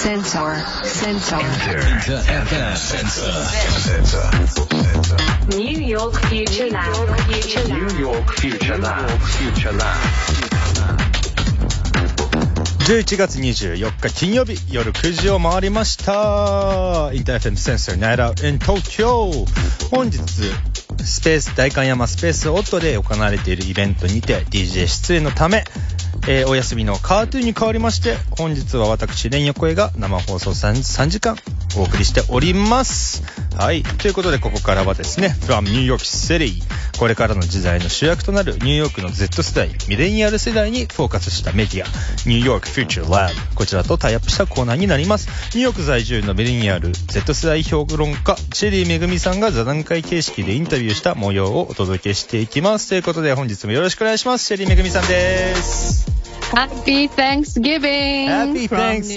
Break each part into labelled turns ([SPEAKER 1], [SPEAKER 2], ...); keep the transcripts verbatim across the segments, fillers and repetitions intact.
[SPEAKER 1] Sensor. Sensor.
[SPEAKER 2] Enter. Enter. Sensor.
[SPEAKER 1] New York Future Lab.
[SPEAKER 2] New York Future Lab. Future Lab.
[SPEAKER 3] じゅういちがつにじゅうよっか金曜日夜くじを回りました。インター エフエム センサー Night Out in Tokyo。 本日スペース代官山スペースオットで行われているイベントにて ディージェー 出演のため、えー、お休みのカートゥーンに代わりまして、本日は私レン横江が生放送 3, さんじかんお送りしております。はい、ということでここからはですね From New York City、 これからの時代の主役となるニューヨークの Z 世代ミレニアル世代にフォーカスしたメディア New York Future Lab、 こちらとタイアップしたコーナーになります。ニューヨーク在住のミレニアル Z 世代評論家チェリーめぐみさんが座談会形式でインタビューした模様をお届けしていきます。ということで本日もよろしくお願いします。チェリーめぐみさんです
[SPEAKER 4] Happy Thanksgiving!
[SPEAKER 3] Happy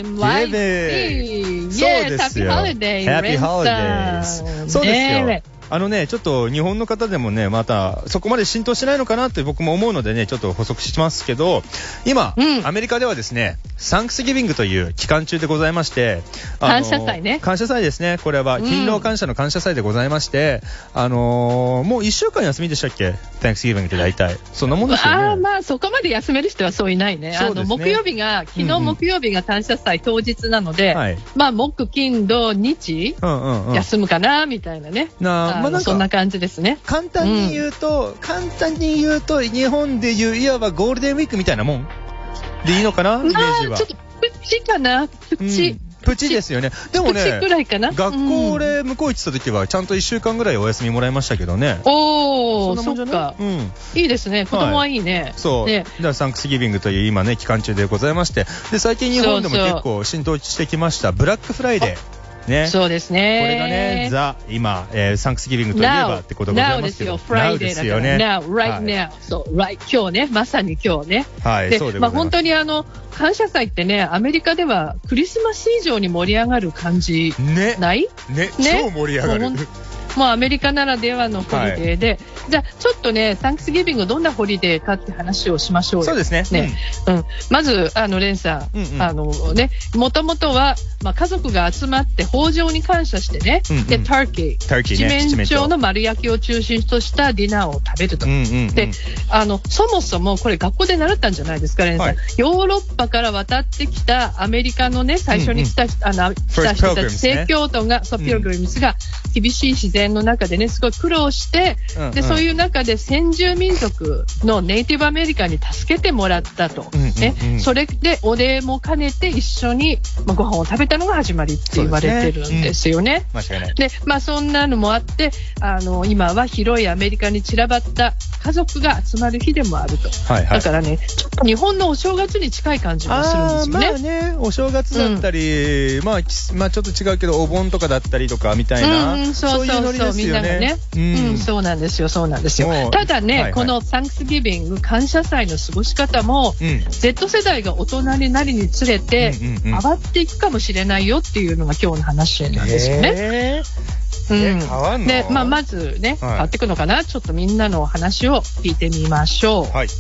[SPEAKER 3] Thanksgiving! そうですよ。
[SPEAKER 4] Happy Holidays!
[SPEAKER 3] Happy Holidays! そうですよ。あのね、ちょっと日本の方でもね、またそこまで浸透しないのかなって僕も思うのでね、ちょっと補足しますけど、今、うん、アメリカではですね、サンクスギビングという期間中でございまして、
[SPEAKER 4] 感謝祭ね。
[SPEAKER 3] 感謝祭ですね。これは勤労感謝の感謝祭でございまして、うん、あのー、もういっしゅうかん休みでしたっけ？ Thanksgiving って大体そんなもんですよね。
[SPEAKER 4] ああ、まあそこまで休める人はそういないね。あの木曜日が昨日木曜日が感謝祭当日なので、うんうん、まあ木金土日、うんうんうん、休むかなみたいなね。
[SPEAKER 3] なあ、まあなんかそ
[SPEAKER 4] んな感じですね。
[SPEAKER 3] 簡単に言うと、うん、簡単に言うと日本でいういわばゴールデンウィークみたいなもんでいいのかな、イメージは。
[SPEAKER 4] ちょっとプチかな、プチ、うん、
[SPEAKER 3] プチですよね。でもね、
[SPEAKER 4] プチくらいかな。
[SPEAKER 3] 学校俺向こう行ってた時はちゃんといっしゅうかんぐらいお休みもらいましたけどね。
[SPEAKER 4] おー、そっか、うん、いいですね。子供はいいね、はい、
[SPEAKER 3] そう、ね、だからサンクスギビングという今ね期間中でございまして、で最近日本でも結構浸透してきましたブラックフライデーね、
[SPEAKER 4] そうですね。
[SPEAKER 3] これがね、ザ今、えー、サンクスギビングといえばってことでございますけど、
[SPEAKER 4] Now ですよ、フライデーだから Now, right now、はい、そう、right、今日ね、まさに今日ね、
[SPEAKER 3] はい、
[SPEAKER 4] で、
[SPEAKER 3] そうでございます。
[SPEAKER 4] まあ本当にあの感謝祭ってね、アメリカではクリスマス以上に盛り上がる感じない？
[SPEAKER 3] ね、ね、超盛り上がる。
[SPEAKER 4] もうアメリカならではのホリデーで、はい、じゃあちょっとね、サンクスギビングどんなホリデーかって話をしましょうよ。
[SPEAKER 3] そうですね。
[SPEAKER 4] ね、うんうん、まずあのレンさん、うんうん、あのね、もともとは、まあ、家族が集まって豊穣に感謝してね、うんうん、でターキー、ターキーね、七面鳥の丸焼きを中心としたディナーを食べると、うんうんうん、であのそもそもこれ学校で習ったんじゃないですか、レンさん、はい、ヨーロッパから渡ってきたアメリカのね、最初に来た、うんうん、あの来た人たち、正教徒が、そう、ピルグリムスが厳しい自然の中でね、すごい苦労して、うんうん、でそういう中で先住民族のネイティブアメリカに助けてもらったと、うんうんうん、ね、それでお礼も兼ねて一緒に、まあ、ご飯を食べたのが始まりって言われてるんですよね。
[SPEAKER 3] 間違いない。
[SPEAKER 4] で、まあそんなのもあって、あの今は広いアメリカに散らばった家族が集まる日でもあると、はいはい、だからね、ちょっと日本のお正月に近い感じもするんですよね。
[SPEAKER 3] あ、まあね、お正月だったり、うん、まあ、まあちょっと違うけどお盆とかだったりとかみたいな、うんうん、そうそうそう、そういうノリですよね。みんながね、うんうん、そうなんですよ、そうなんですよ。ただね、はいはい、このサンクスギビング感謝祭の過ごし方も、うん、Z 世代が大人になりにつれて、うんうんうん、変わっていくかもしれないよっていうのが今日の話なんですよね。 えーうん、変わんの？
[SPEAKER 4] で、まあ、まずね、はい、変わっていくのかな、ちょっとみんなの話を聞いてみましょう。はい。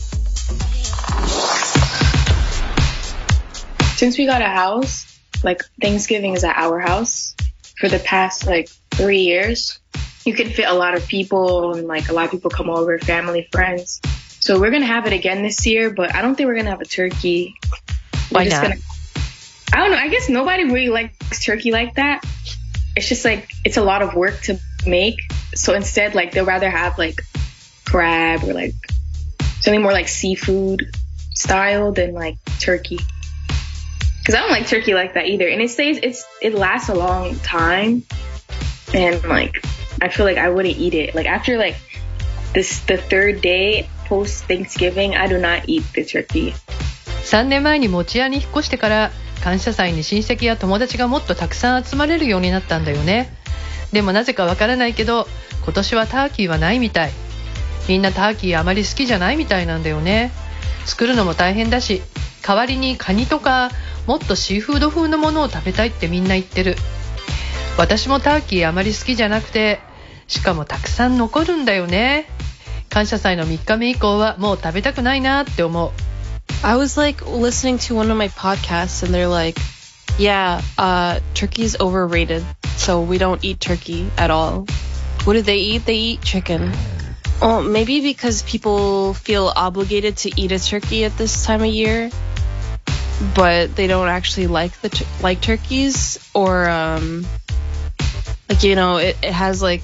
[SPEAKER 5] Since we got a house, like Thanksgiving is at our house for the past like three years. You can fit a lot of people and like a lot of people come over, family, friends. So we're going to have it again this year, but I don't think we're going to have a turkey.
[SPEAKER 4] Why not?
[SPEAKER 5] Gonna, I don't know. I guess nobody really likes turkey like that. It's just like, it's a lot of work to make. So instead, like they'll rather have like crab or like something more like seafood style than like turkey. Cause I don't like turkey like that either. And it stays, it's, it lasts a long time. And like, I feel like I wouldn't eat it. Like after like this, the third day post Thanksgiving, I do not eat the turkey.
[SPEAKER 4] さんねんまえに持屋に引っ越してから感謝祭に親戚や友達がもっとたくさん集まれるようになったんだよね。でもなぜかわからないけど今年はターキーはないみたい。みんなターキーあまり好きじゃないみたいなんだよね。作るのも大変だし、代わりにカニとかもっとシーフード風のものを食べたいってみんな言ってる。私もターキーあまり好きじゃなくて、しかもたくさん残るんだよね。感謝祭のみっかめ以降はもう食べたくないなって思う。
[SPEAKER 6] I was like listening to one of my podcasts and they're like, Yeah, uh, turkey's overrated, so we don't eat turkey at all. What do they eat? They eat chicken. Well, maybe because people feel obligated to eat a turkey at this time of year, but they don't actually like the tur- like turkeys, or um, like you know, it, it has like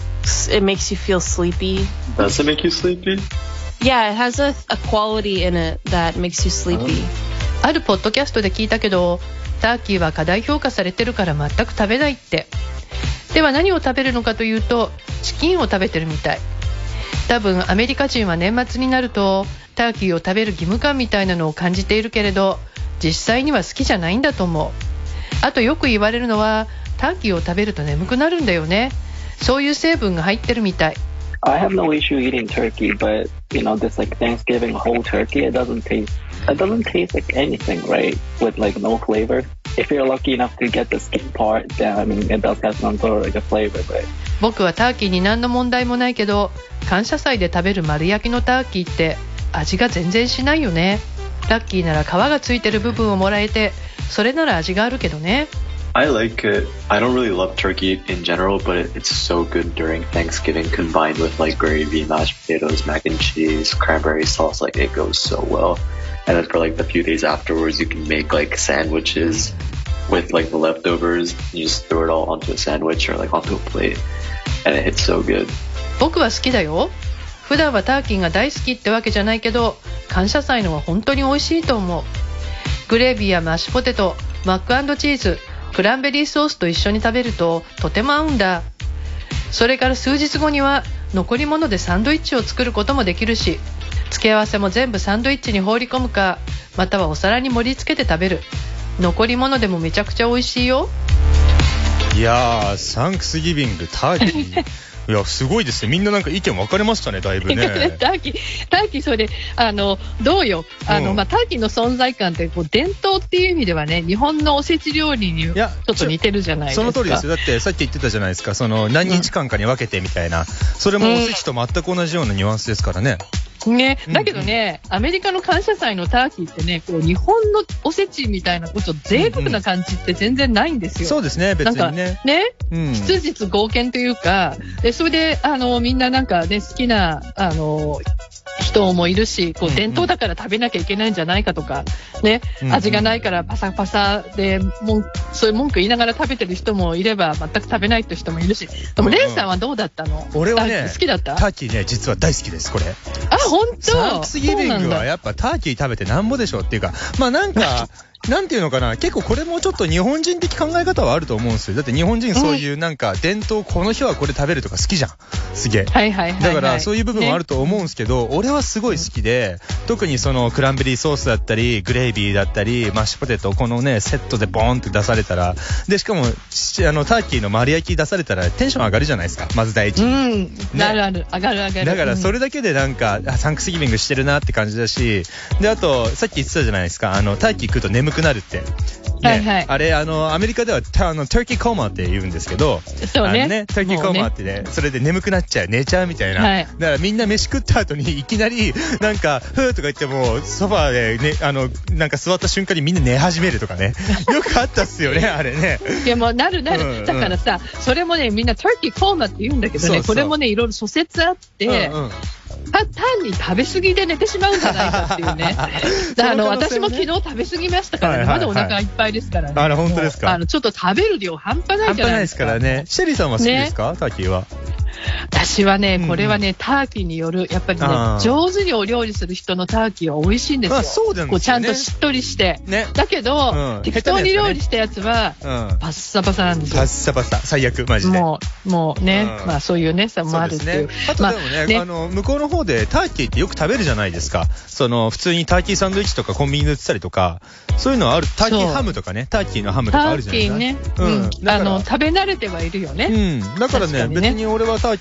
[SPEAKER 6] it makes you feel sleepy.
[SPEAKER 7] Does it make you sleepy?
[SPEAKER 6] Yeah, it has a, a quality in it that makes you sleepy.
[SPEAKER 4] あるポッドキャストで聞いたけど、ターキーは過大評価されてるから全く食べないって。では何を食べるのかというと、チキンを食べてるみたい。多分アメリカ人は年末になるとターキーを食べる義務感みたいなのを感じているけれど、実際には好きじゃないんだと思う。あとよく言われるのは、ターキーを食べると眠くなるんだよね。そういう成分が入ってるみたい。
[SPEAKER 8] I have no issue eating turkey, but you know, this like Thanksgiving whole turkey, it doesn't taste, it doesn't taste like anything, right? With like no flavor. If you're lucky enough to get the skin part, then I mean, it does have some sort of like a flavor, but.
[SPEAKER 4] 僕はターキーに何の問題もないけど、感謝祭で食べる丸焼きのターキーって味が全然しないよね。ラッキーなら皮がついてる部分をもらえて、それなら味があるけどね。
[SPEAKER 7] I like it. I don't really love turkey in general, but it, it's so good during Thanksgiving combined with like gravy, mashed potatoes, mac and cheese, cranberry sauce. Like it goes so well. And then for like the few days afterwards, you can make like sandwiches with like the leftovers. You just throw it all onto a sandwich or like onto a plate, and it hits so good.
[SPEAKER 4] 僕は好きだよ。普段はターキーが大好きってわけじゃないけど、感謝祭のは本当に美味しいと思う。グレービーやマッシュポテト、マック&チーズ、クランベリーソースと一緒に食べるととても合うんだ。それから数日後には残り物でサンドイッチを作ることもできるし、付け合わせも全部サンドイッチに放り込むか、またはお皿に盛り付けて食べる。残り物でもめちゃくちゃ美味しいよ。
[SPEAKER 3] いやー、サンクスギビングターキーいやすごいですね。みんななんか意見分かれましたね、だいぶね。
[SPEAKER 4] ターキー、ターキーそれであのどうよ。あの、うん、まあターキーの存在感ってこう伝統っていう意味ではね、日本のおせち料理にちょっと似てるじゃないですか。
[SPEAKER 3] その通りですよ。だってさっき言ってたじゃないですか。その何日間かに分けてみたいな、うん、それもおせちと全く同じようなニュアンスですからね。
[SPEAKER 4] ね、だけどね、うんうん、アメリカの感謝祭のターキーってね、こう日本のおせちみたいなこうちょっと贅沢な感じって全然ないんですよ。
[SPEAKER 3] うんうん、そうですね、別にね。なんか
[SPEAKER 4] ね、うん、質実剛健というか、でそれであのみんななんかね好きなあの人もいるし、こう伝統だから食べなきゃいけないんじゃないかとか、ね、うんうん、味がないからパサパサでもそういう文句言いながら食べてる人もいれば、全く食べないって人もいるし。でもレンさんはどうだったの？
[SPEAKER 3] 俺はね、
[SPEAKER 4] 好きだった？
[SPEAKER 3] ターキーね、実は大好きです、これ。
[SPEAKER 4] あ、本当？
[SPEAKER 3] サンクスギビングはやっぱターキー食べてなんぼでしょっていうか、まあなんかなんていうのかな、結構これもちょっと日本人的考え方はあると思うんですよ。だって日本人そういうなんか伝統、この日はこれ食べるとか好きじゃん。すげえ。
[SPEAKER 4] はいはいはいはい。
[SPEAKER 3] だからそういう部分もあると思うんですけど、ね、俺はすごい好きで、特にそのクランベリーソースだったり、グレービーだったり、マッシュポテト、このね、セットでボーンって出されたら、で、しかも、あの、ターキーの丸焼き出されたらテンション上がるじゃないですか。まず第一。
[SPEAKER 4] うん。ね、なるある。上がる上がる。
[SPEAKER 3] だからそれだけでなんか、あ、サンクスギビングしてるなって感じだし、で、あと、さっき言ってたじゃないですか。あの、ターキー食うと眠くなるって。ね、はいはい、あれあのアメリカではあのターキーコーマって言うんですけど、
[SPEAKER 4] そうね、
[SPEAKER 3] ね、ターキーコーマってね、それで眠くなっちゃう、寝ちゃうみたいな、はい、だからみんな飯食った後にいきなりなんかふーとか言ってもソファーで、ね、あのなんか座った瞬間にみんな寝始めるとかね、よくあったっすよねあれね。
[SPEAKER 4] いやもうなるなる、うんうん、だからさ、それもねみんなターキーコーマって言うんだけどね、そうそう、これもねいろいろ諸説あって、うんうん、単に食べ過ぎで寝てしまうんじゃないかっていうね。あの私も昨日食べ過ぎましたからね、はいはいはい、まだお腹いっぱいですからね。
[SPEAKER 3] あら本当ですか。
[SPEAKER 4] あのちょっと食べる量半端ないじゃないですか。
[SPEAKER 3] 半端ないですからね。シェリーさんは好きですか、ね、ターキーは。
[SPEAKER 4] 私はね、これはね、うん、ターキーによる、やっぱりね、上手にお料理する人のターキーは美味しいんですよ。
[SPEAKER 3] あ、そうなんですよね。
[SPEAKER 4] こうちゃんとしっとりして。ね、だけど、うん、適当に料理したやつは、うん、パッサパサなんですよ。
[SPEAKER 3] パッサパサ。最悪、マジで。
[SPEAKER 4] もう、もうね、うん、まあそういうね、さもあるっていう。
[SPEAKER 3] そうですね。あとでもね、まあ、ね、あの、向こうの方でターキーってよく食べるじゃないですか。その、普通にターキーサンドイッチとかコンビニで売ってたりとか、そういうのはある。ターキーハムとかね、ターキーのハムとかあるじゃないですか。
[SPEAKER 4] ターキーね。うん。あの、食べ慣れてはいるよね。
[SPEAKER 3] うん。だからね、別に俺はターキ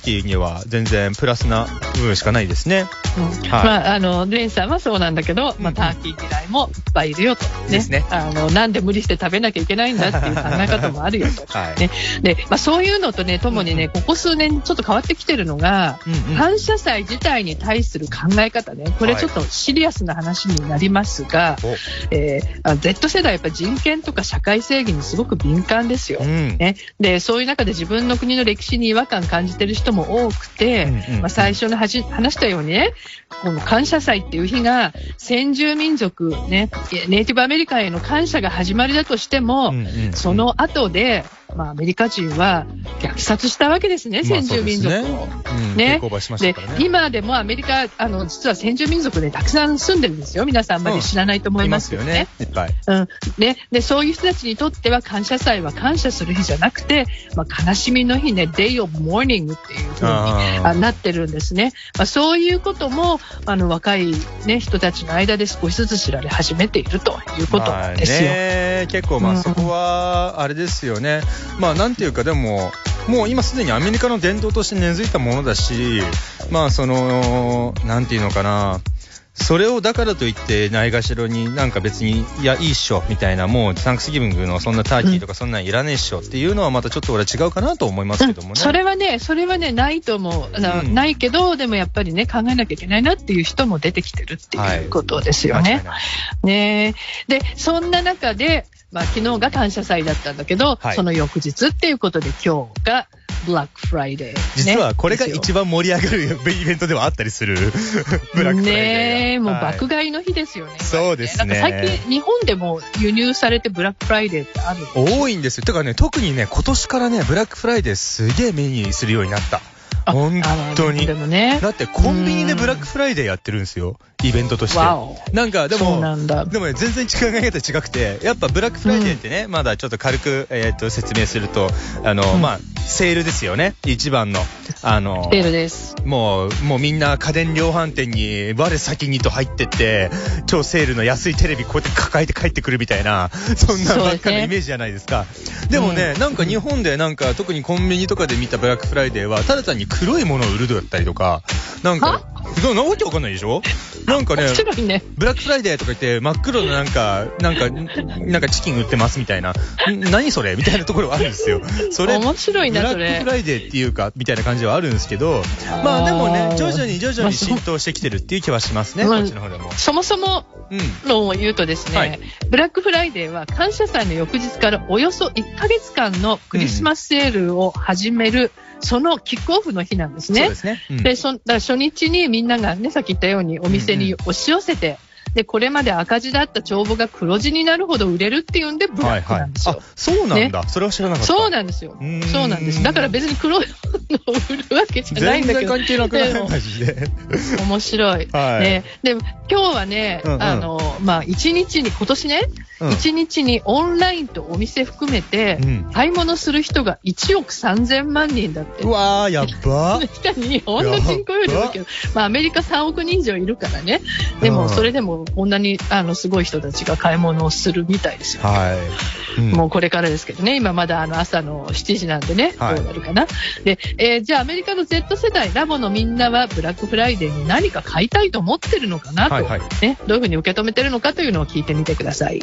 [SPEAKER 3] キーには全然プラスな部分しかないですね。
[SPEAKER 4] うんはい、まあ、あのレンさんはそうなんだけど、まあ、ターキー嫌いもいっぱいいるよと、ねですね、あのなんで無理して食べなきゃいけないんだっていう考え方もあるよと、はいねでまあ、そういうのとねともにね、うん、ここ数年ちょっと変わってきてるのが、うんうん、感謝祭自体に対する考え方ね、これちょっとシリアスな話になりますが、はいえー、Z 世代はやっぱり人権とか社会正義にすごく敏感ですよ、うんね、でそういう中で自分の国の歴史に違和感感じてる人も多くて、うんうんうんまあ、最初の話したようにねこの感謝祭っていう日が先住民族、ね、ネイティブアメリカンへの感謝が始まりだとしても、うんうんうん、その後でまあ、アメリカ人は虐殺したわけですね、先住民族を。まあねうん、ねで今でもアメリカあの実は先住民族でたくさん住んでるんですよ。皆さんあんまり知らないと思いますよね。うん、いますよね。うんねでそういう人たちにとっては感謝祭は感謝する日じゃなくて、まあ、悲しみの日ね Day of Mourning っていう風にあなってるんですね。まあ、そういうこともあの若い、ね、人たちの間で少しずつ知られ始めているということなんですよ。まあね、
[SPEAKER 3] 結構まあそこはあれですよね。まあなんていうかでももう今すでにアメリカの伝統として根付いたものだし、まあそのなんていうのかな、それをだからといってないがしろになんか別にいやいいっしょみたいな、もうサンクスギビングのそんなターキーとかそんなんいらねえっしょっていうのはまたちょっと俺は違うかなと思いますけどもね、うん、
[SPEAKER 4] それはねそれはねないと思う、うん、ないけどでもやっぱりね考えなきゃいけないなっていう人も出てきてるっていうことですよね、はい、ねでそんな中でまあ、昨日が感謝祭だったんだけど、はい、その翌日っていうことで今日がブラックフライデー、ね、
[SPEAKER 3] 実はこれが一番盛り上がるイベントではあったりするブラックフライデー
[SPEAKER 4] ねもう爆買いの日ですよね、はい、
[SPEAKER 3] そうですね。
[SPEAKER 4] なんか最近日本でも輸入されてブラックフライデーってある
[SPEAKER 3] 多いんですよ。てかね特にね今年からねブラックフライデーすげえ目にするようになった。本当に、ね、だってコンビニでブラックフライデーやってるんですよ、イベントとして。なんかでも
[SPEAKER 4] なんだ
[SPEAKER 3] でもね全然考え方違くて、やっぱブラックフライデーってね、うん、まだちょっと軽く、えー、と説明するとあの、うん、まあセールですよね。一番のあの
[SPEAKER 4] セールです。
[SPEAKER 3] もうもうみんな家電量販店に我先にと入ってって超セールの安いテレビこうやって抱えて帰ってくるみたいな、そんなばっかのイメージじゃないですか。でもね、うん、なんか日本でなんか特にコンビニとかで見たブラックフライデーはただ単に黒いものを売るだったりとか、なんかそんなわけわかんないでしょ。なんか ね, ねブラックフライデーとか言って真っ黒のなんかなんかなんかチキン売ってますみたいな、何それみたいなところはあるんですよ。それ
[SPEAKER 4] 面白いなそれ。
[SPEAKER 3] ブラックフライデーっていうかみたいな感じはあるんですけど、まあでもね徐々に徐々に浸透してきてるっていう気はしますね、まあ、こっちの方でも。
[SPEAKER 4] そもそものを言うとですね、うんはい、ブラックフライデーは感謝祭の翌日からおよそいっかげつかんのクリスマスセールを始める、うん、そのキックオフの日なんですね。
[SPEAKER 3] そうですね、うん、
[SPEAKER 4] でそだから初日にみんながねさっき言ったようにお店に押し寄せて、うんうんでこれまで赤字だった帳簿が黒字になるほど売れるっていうんでブラックなんですよ。
[SPEAKER 3] はいはい、あそうなんだ、ね、それは知らなかった。
[SPEAKER 4] そうなんですよ。そうなんです。だから別に黒いのを売るわけじゃないんだけど
[SPEAKER 3] 全然関係なくないマジで
[SPEAKER 4] 面白い、はいね、でも今日はね、うんうん、あのまあ一日に今年ね、うん、一日にオンラインとお店含めて、うん、買い物する人がいちおくさんぜんまんにんだって。
[SPEAKER 3] うわーやっば
[SPEAKER 4] 日本の人口より多いけど、まあ、アメリカさんおくにん以上いるからね。でもそれでもこんなにあのすごい人たちが買い物をするみたいですよ、ねはいうん、もうこれからですけどね。今まだあの朝のしちじなんでね、はい、どうなるかな。で、えー、じゃあアメリカの Z 世代ラボのみんなはブラックフライデーに何か買いたいと思ってるのかなと、はいはいね、どういうふうに受け止めてるのかというのを聞いてみてください。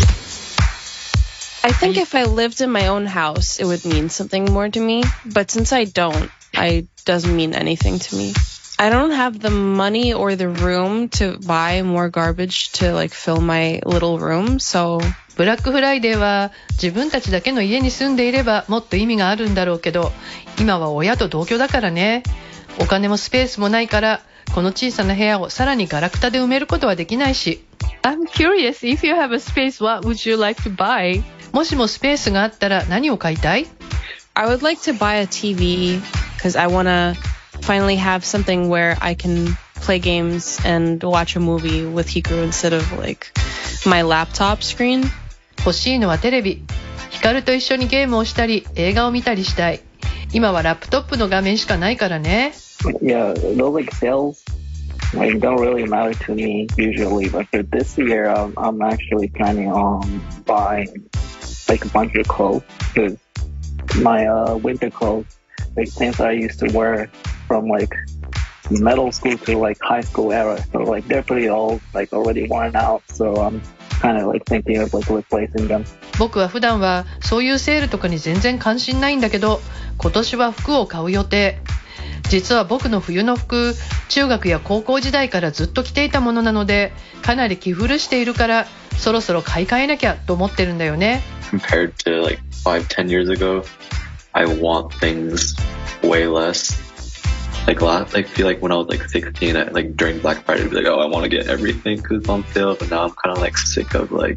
[SPEAKER 6] I think if I lived in my own house, it would mean something more to me. But since I don't, it doesn't mean anything to me. I don't have the money or the room to buy more garbage to like fill my little room, so...
[SPEAKER 4] ブラックフライデーは自分たちだけの家に住んでいればもっと意味があるんだろうけど、今は親と同居だからね。お金もスペースもないから、この小さな部屋をさらにガラクタで埋めることはできないし。I'm curious, if you have a space, what would you like to buy? もしもスペースがあったら何を買いたい？
[SPEAKER 6] I would like to buy a T V because I want to finally have something where I can play games and watch a movie with Hikaru instead of like my laptop screen.
[SPEAKER 4] 欲しいのはテレビ。ヒカルと一緒にゲームをしたり映画を見たりしたい。今はラップトップの画面しかないからね。
[SPEAKER 8] Yeah, those like sales like don't really matter to me usually, but for this year, um, I'm actually planning on buying like a bunch of clothes because my uh, winter clothes like things that I used to wear from like middle school to like high school era. So like they're pretty old, like already worn out. So I'm kind of like thinking of like replacing them.
[SPEAKER 4] 僕は普段はそういうセールとかに全然関心ないんだけど、今年は服を買う予定。実は僕の冬の服、中学や高校時代からずっと着ていたものなので、かなり着古しているから、そろそろ買い替えなきゃと思ってるんだよね。
[SPEAKER 7] Compared to like five, ten years ago, I want things way less. Like last, I feel like when I was like sixteen, I, like during Black Friday, I'd be like, oh, I want to get everything because it's on sale. But now I'm kind of like sick of like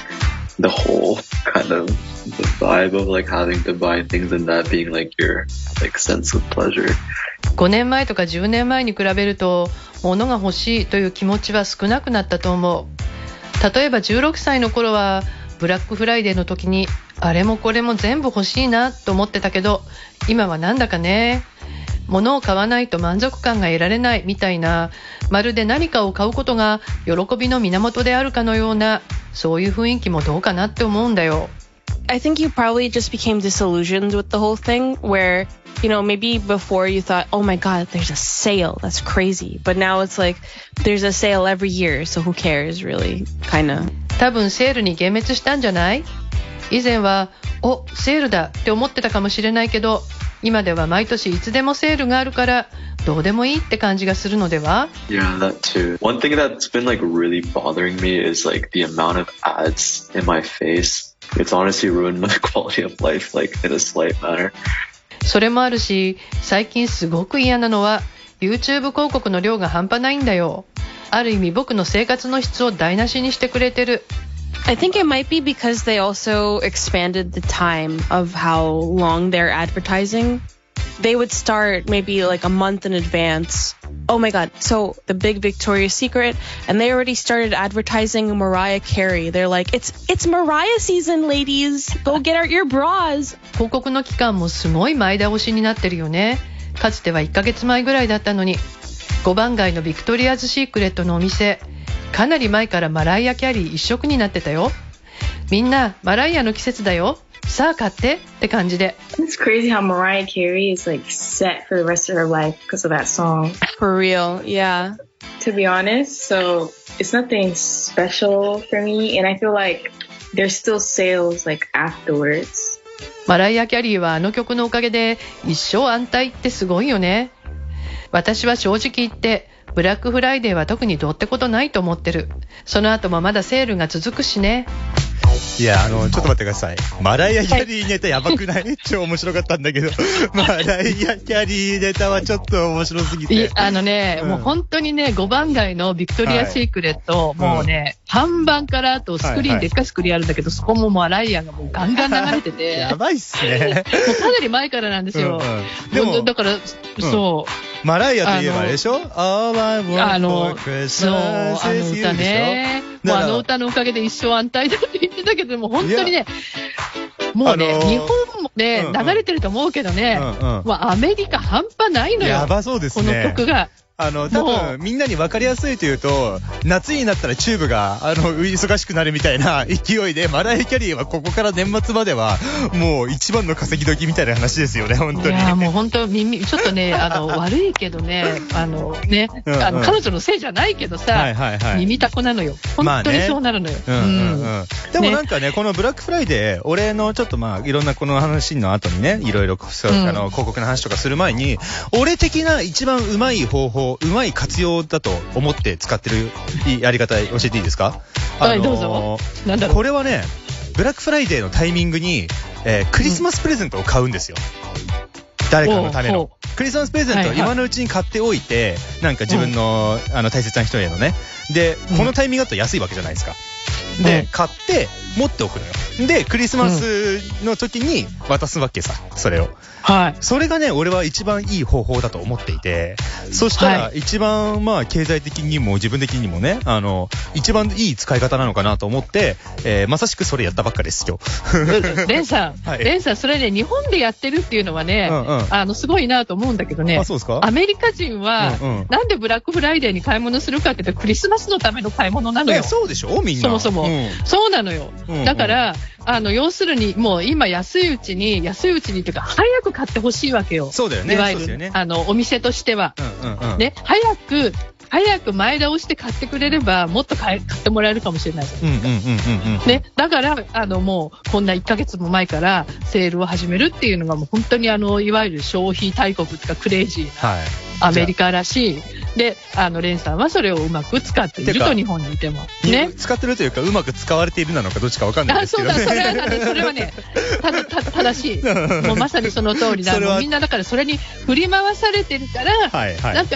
[SPEAKER 7] the whole kind of the vibe of like having to buy things and that being like your like sense of pleasure.
[SPEAKER 4] ごねんまえとかじゅうねんまえに比べると、物が欲しいという気持ちは少なくなったと思う。例えばじゅうろくさいの頃は、ブラックフライデーの時に、あれもこれも全部欲しいなと思ってたけど、今はなんだかね、物を買わないと満足感が得られないみたいな、まるで何かを買うことが喜びの源であるかのような、そういう雰囲気もどうかなって思うんだよ。
[SPEAKER 6] I think you probably just became disillusioned with the whole thing where, you know, maybe before you thought, oh my God, there's a sale. That's crazy. But now it's like, there's a sale every year. So who cares, really? Kind of.
[SPEAKER 4] 多分セールに幻滅したんじゃない？以前は、お、セールだって思ってたかもしれないけど、今では毎年いつでもセールがあるから、どうでもいいって感じがするのでは？
[SPEAKER 7] Yeah, that too. One thing that's been like really bothering me is like the amount of ads in my face. It's honestly ruined my quality of life, like in a slight manner.
[SPEAKER 4] それもあるし、最近すごく嫌なのは YouTube 広告の量が半端ないんだよ。ある意味僕の生活の質を台無しにしてくれてる。
[SPEAKER 6] I think it might be because they also expanded the time of how long they're advertising. They would start maybe like a month in advance. Oh my God. So the big Victoria's Secret, and they already started advertising Mariah Carey. They're like, it's, it's Mariah season, ladies. Go get out your bras.
[SPEAKER 4] 広告の期間もすごい前倒しになってるよね。かつてはいっかげつまえぐらいだったのに。ごばん街のビクトリアズシークレットのお店、かなり前からマライア・キャリー一色になってたよ。みんなマライアの季節だよ。さあ買ってって感じで。
[SPEAKER 5] It's crazy how Mariah Carey is like set for the rest of her life because of that song.
[SPEAKER 6] For real, yeah.
[SPEAKER 5] To be honest, so it's nothing special for me, and I feel like there's still sales like afterwards.
[SPEAKER 4] マライア・キャリーはあの曲のおかげで一生安泰ってすごいよね。私は正直言ってブラックフライデーは特にどうってことないと思ってる。その後もまだセールが続くしね。
[SPEAKER 3] いや、あの、ちょっと待ってください。マライア・キャリーネタやばくない？超面白かったんだけど、マライア・キャリーネタはちょっと面白すぎて。
[SPEAKER 4] あのね、うん、もう本当にね、ごばん街のビクトリア・シークレット、はい、もうね、うん、看板からあとスクリーン、はいはい、でっかいスクリーンあるんだけど、そこもマライアがもうガンガン流れてて。
[SPEAKER 3] やばいっすね。
[SPEAKER 4] もうかなり前からなんですよ。うんうん、でも、だから、うん、そう。
[SPEAKER 3] マライアといえばあれでしょ？ All I want for Christmas
[SPEAKER 4] そう、あの歌ね。もうあの歌のおかげで一生安泰だって言ってたけど、もう本当にね、もうね、あのー、日本もね、うんうん、流れてると思うけどね、うんうん、もうアメリカ半端ないのよ。
[SPEAKER 3] やばそうですね。
[SPEAKER 4] この曲が。
[SPEAKER 3] あの、多分、みんなに分かりやすいというと、夏になったらチューブが、あの、忙しくなるみたいな勢いで、マライア・キャリーはここから年末までは、もう一番の稼ぎ時みたいな話ですよね、本当に。
[SPEAKER 4] いや、もう本当、耳、ちょっとね、あの、悪いけどね、あの、ね、うんうん、あの、彼女のせいじゃないけどさ、はいはいはい、耳たこなのよ。本当にそうなるのよ。まあね、うんうんうん。
[SPEAKER 3] でもなんかね、このブラックフライデー、俺のちょっとまあ、いろんなこの話の後にね、いろいろ、そう、あの、広告の話とかする前に、俺的な一番うまい方法、うまい活用だと思って使ってるやり方教えていいですか？
[SPEAKER 4] はい、あのー、どうぞ。なんだろう。
[SPEAKER 3] これはね、ブラックフライデーのタイミングに、えー、クリスマスプレゼントを買うんですよ。うん、誰かのための。クリスマスプレゼントを今のうちに買っておいて、はいはい、なんか自分の、うん、あの大切な人へのね。で、このタイミングだと安いわけじゃないですか。うん、で、買って持っておくのよ。で、クリスマスの時に渡すわけさ、それを。
[SPEAKER 4] はい。
[SPEAKER 3] それがね、俺は一番いい方法だと思っていて、そしたら一番、まあ、経済的にも自分的にもね、あの、一番いい使い方なのかなと思って、えー、まさしくそれやったばっかです、今日。
[SPEAKER 4] レンさん、はい、レンさん、それね、日本でやってるっていうのはね、うんうん、あの、すごいなと思うんだけどね、
[SPEAKER 3] あ、そうですか？
[SPEAKER 4] アメリカ人は、うんうん、なんでブラックフライデーに買い物するかって言ったら、クリスマスのための買い物なのよ。
[SPEAKER 3] そうでしょみんな。
[SPEAKER 4] そもそも、うん。そうなのよ。 うんうん、だから、あの、要するに、もう今安いうちに、安いうちにというか、早く買ってほしいわけよ。
[SPEAKER 3] そうだよね。
[SPEAKER 4] いわゆる、ね、あの、お店としては。うんうんうん、ね、早く、早く前倒して買ってくれれば、もっと買ってもらえるかもしれないじゃないですか。ね、だから、あの、もう、こんないっかげつも前からセールを始めるっていうのが、もう本当にあの、いわゆる消費大国というか、クレイジーな、アメリカらしい。で、あの、レンさんはそれをうまく使っていると、日本にいても。
[SPEAKER 3] ね。使ってるというか、うまく使われているなのか、どっちかわかんないですけど、ね。
[SPEAKER 4] あ、そうだ、それは、ね、それはね、ただ、た、正しい。もうまさにその通りだ。もうみんなだからそれに振り回されてるから、はいはい、だから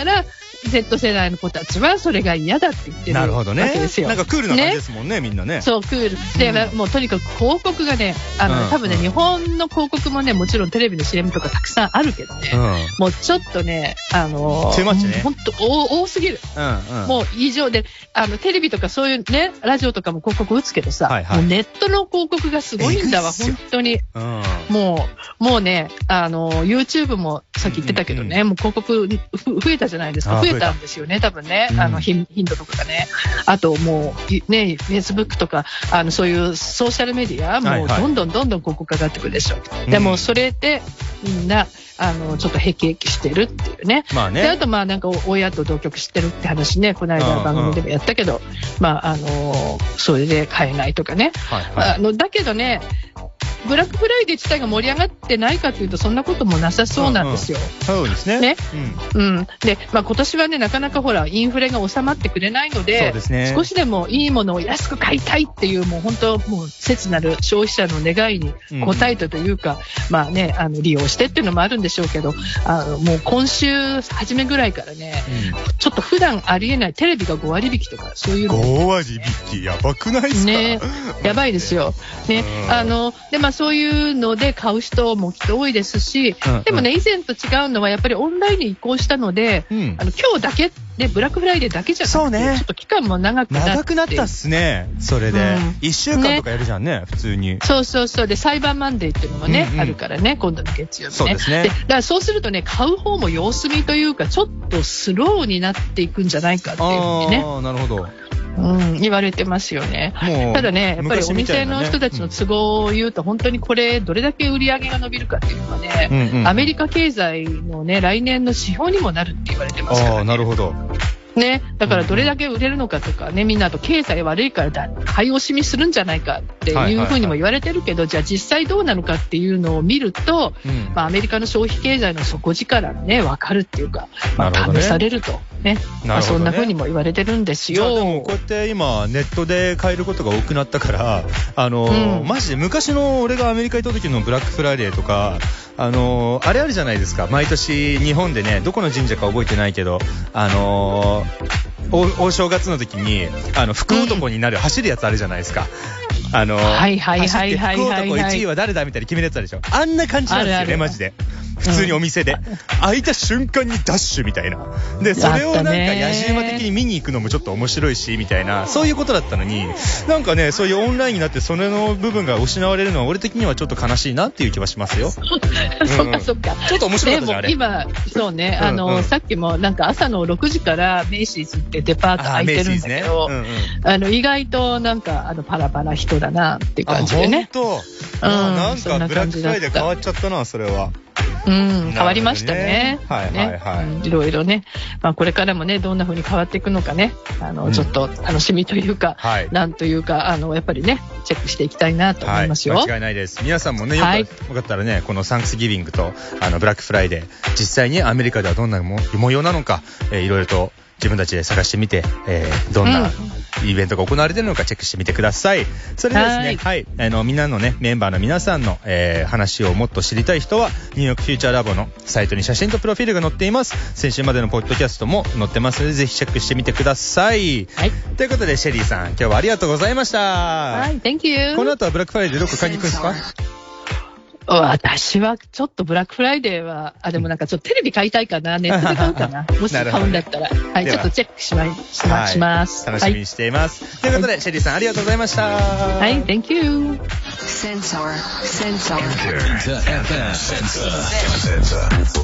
[SPEAKER 4] 、Z 世代の子たちはそれが嫌だって言ってるわけですよ。
[SPEAKER 3] なるほどね。なんかクールな感じですもんね、ね、みんなね。
[SPEAKER 4] そう、クール。で、うん、もうとにかく広告がね、あの、うん、多分ね、日本の広告もね、もちろんテレビの シーエム とかたくさんあるけどね、うん、もうちょっとね、あのー、
[SPEAKER 3] too muchね。
[SPEAKER 4] ほんと多、多すぎる。うんうん、もう異常で、あの、テレビとかそういうね、ラジオとかも広告打つけどさ、はいはい、もうネットの広告がすごいんだわ、本当に。うん、もう、もうね、あの、YouTube もさっき言ってたけどね、うんうん、もう広告増えたじゃないですか。増えたんですよね。多分ね、あの、頻度とかがね。あともう、ね、Facebook とか、あの、そういうソーシャルメディア、もうどんどんどんどん広告かかってくるでしょ。はいはい、でも、それで、みんな、あの、ちょっとへきへきしてるっていうね。まあね。で、あと、まあ、なんか、親と同居してるって話ね、この間番組でもやったけど、まあ、あの、それで買えないとかね。はいはい、あの、だけどね、ブラックフライデー自体が盛り上がってないかというとそんなこともなさそうなんですよ。
[SPEAKER 3] うんうん、そうですね。
[SPEAKER 4] ね、うん、うん。で、まあ今年はねなかなかほらインフレが収まってくれないので、そうですね、少しでもいいものを安く買いたいっていうもう本当もう切なる消費者の願いに応えたというか、うん、まあねあの利用してっていうのもあるんでしょうけど、あのもう今週初めぐらいからね、うん、ちょっと普段ありえないテレビがごわり引きとかそういうの。
[SPEAKER 3] ごわり引きやばくないですか？
[SPEAKER 4] ね、やばいですよ。ね、うん、あのでまあそういうので買う人もきっと多いですし、うんうん、でもね以前と違うのはやっぱりオンラインに移行したので、うん、あの今日だけでブラックフライデーだけじゃなくて、そうね、ちょっと期間も長くなって
[SPEAKER 3] 長くなったっすね。それで、うん、いっしゅうかんとかやるじゃん ね, ね普通に。
[SPEAKER 4] そうそうそう。でサイバーマンデーっていうのもね、うんうん、あるからね今度の月曜日ね。
[SPEAKER 3] そうですね。
[SPEAKER 4] でだからそうするとね買う方も様子見というかちょっとスローになっていくんじゃないかっていうふうにね。
[SPEAKER 3] ああなるほど。
[SPEAKER 4] うん、言われてますよね。ただね、やっぱりお店の人たちの都合を言うと、本当にこれ、どれだけ売り上げが伸びるかっていうのはね、うんうん、アメリカ経済のね、来年の指標にもなるって言われてますからね。
[SPEAKER 3] ああ、なるほど。
[SPEAKER 4] ね、だからどれだけ売れるのかとかね、みんなと経済悪いからだ買い惜しみするんじゃないかっていうふうにも言われてるけど、はいはいはい、じゃあ実際どうなのかっていうのを見ると、うん、まあアメリカの消費経済の底力がね、わかるっていうか、まあ、試されるとね、ねまあ、そんなふうにも言われてるんですよ。
[SPEAKER 3] でもこうやって今ネットで買えることが多くなったから、あのーうん、マジで昔の俺がアメリカ行った時のブラックフライデーとか、あのー、あれあるじゃないですか。毎年日本でね、どこの神社か覚えてないけど、あのー大, 大正月の時にあの福男になる、うん、走るやつあるじゃないですか。あの
[SPEAKER 4] はいはいはいはいはい、
[SPEAKER 3] 福男いちいは誰だみたいに決めるやつあるでしょ。あんな感じなんですよね、あるあるマジで。普通にお店で、うん、開いた瞬間にダッシュみたいな。でそれをなんか野じ馬的に見に行くのもちょっと面白いしみたいな、そういうことだったのに、なんかねそういうオンラインになってそれの部分が失われるのは俺的にはちょっと悲しいなっていう気はしますよ。
[SPEAKER 4] そっかそっか。
[SPEAKER 3] ちょっと面白かったじゃんあれ。
[SPEAKER 4] でも今そうね、あの、うんうん、さっきもなんか朝のろくじからメイシーズってデパート開いてるんだけど、あ、ねうんうん、あの意外となんかあのパラパラ人だなっていう感じでね。
[SPEAKER 3] あ本当。うん、なんかブラックフライデー変わっちゃったなそれは。
[SPEAKER 4] うん、変わりましたね。
[SPEAKER 3] はいはいはい。
[SPEAKER 4] ね、うん、いろいろね。まあこれからもね、どんな風に変わっていくのかね、あの、うん、ちょっと楽しみというか、はい、なんというか、あの、やっぱりね、チェックしていきたいなと思いますよ。
[SPEAKER 3] はい、間違いないです。皆さんもね、よか、はい、よかったらね、このサンクスギビングと、あの、ブラックフライデー、実際にアメリカではどんなも模様なのか、えー、いろいろと自分たちで探してみて、えー、どんなイベントが行われているのかチェックしてみてください。それでですね、はい、はい、あのみんなのねメンバーの皆さんの、えー、話をもっと知りたい人はニューヨークフューチャーラボのサイトに写真とプロフィールが載っています。先週までのポッドキャストも載ってますのでぜひチェックしてみてください。はい。ということでシェリーさん今日はありがとうございました。
[SPEAKER 4] はい、Thank you。
[SPEAKER 3] この後はブラックフライデーどこ買いに行くんですか？
[SPEAKER 4] 私はちょっとブラックフライデーは、あ、でもなんかちょっとテレビ買いたいかな、ネットで買うかな、もし買うんだったら、はい、ちょっとチェックしまい、しま、します。
[SPEAKER 3] 楽しみにしています。はい、ということで、シェリーさんありがとうございました。
[SPEAKER 4] はい、Thank you。
[SPEAKER 1] Sensor, sensor.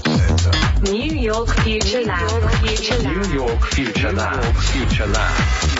[SPEAKER 1] New York Future Lab. New York Future Lab. Future Lab.